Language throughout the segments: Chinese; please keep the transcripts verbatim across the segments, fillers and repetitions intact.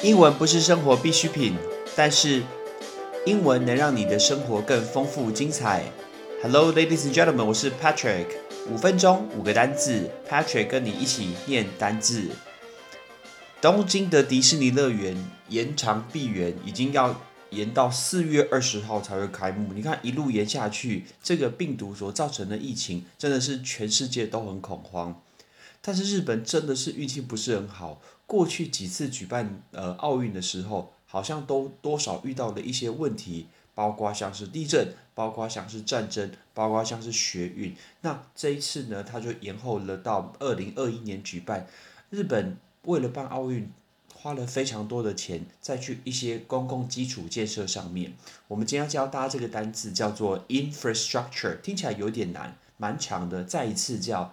英文不是生活必需品，但是英文能让你的生活更丰富精彩。Hello, ladies and gentlemen， 我是 Patrick。五分钟五个单字 ，Patrick 跟你一起念单字。东京的迪士尼乐园延长闭园，已经要延到四月二十号才会开幕。你看一路延下去，这个病毒所造成的疫情，真的是全世界都很恐慌。但是日本真的是运气不是很好，过去几次举办呃奥运的时候，好像都多少遇到了一些问题，包括像是地震，包括像是战争，包括像是学运。那这一次呢，它就延后了到二零二一年举办。日本为了办奥运，花了非常多的钱再去一些公共基础建设上面。我们今天要教大家这个单字叫做 infrastructure， 听起来有点难，蛮长的。再一次叫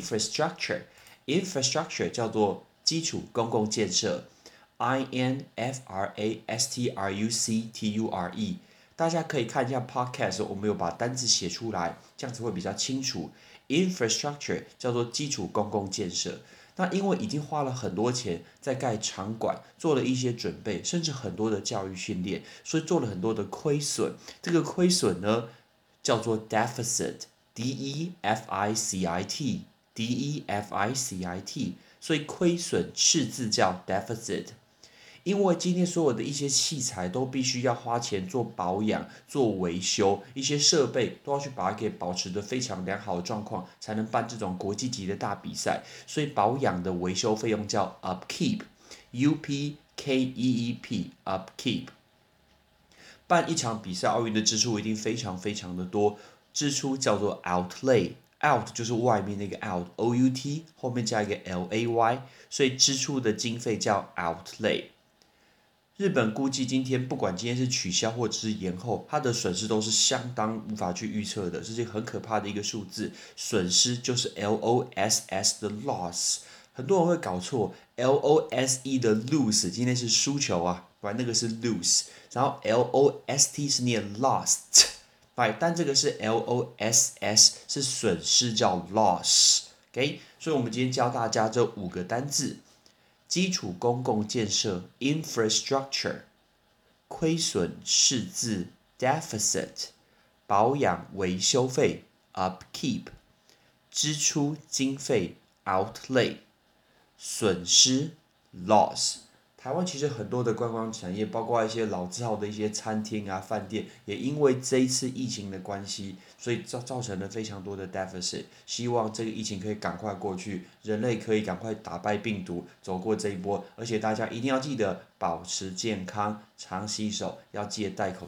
infrastructure。infrastructure 叫做基础公共建设 ，I N F R A S T R U C T U R E。大家可以看一下 podcast， 我们有把单字写出来，这样子会比较清楚。infrastructure 叫做基础公共建设。那因为已经花了很多钱在盖场馆，做了一些准备，甚至很多的教育训练，所以做了很多的亏损。这个亏损呢，叫做 deficit，D E F I C I T。D E F I C I T， 所以亏损赤字叫 deficit。因为今天所有的一些器材都必须要花钱做保养、做维修，一些设备都要去把它给保持得非常良好的状况，才能办这种国际级的大比赛。所以保养的维修费用叫 upkeep，U P K E E P，upkeep。办一场比赛，奥运的支出一定非常非常的多，支出叫做 outlay。out 就是外面那个 out，O U T 后面加一个 L A Y， 所以支出的经费叫 outlay。日本估计今天不管今天是取消或者是延后，它的损失都是相当无法去预测的，这是很可怕的一个数字。损失就是 L O S S 的 loss， 很多人会搞错 ，L O S E 的 lose 今天是输球啊，不然那个是 lose， 然后 L O S T 是念 lost。但这个是 L O S S， 是损失叫 loss。OK， 所以我们今天教大家这五个单字：基础公共建设 infrastructure， 亏损赤字 deficit， 保养维修费 upkeep， 支出经费 outlay， 损失 loss。台湾其实很多的观光产业，包括一些老字号的一些餐厅啊、饭店，也因为这一次疫情的关系，所以造造成了非常多的 deficit。希望这个疫情可以赶快过去，人类可以赶快打败病毒，走过这一波。而且大家一定要记得保持健康，常洗手，要记得戴口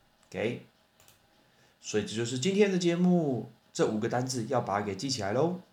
罩。OK， 所以这就是今天的节目，这五个单字要把它给记起来喽。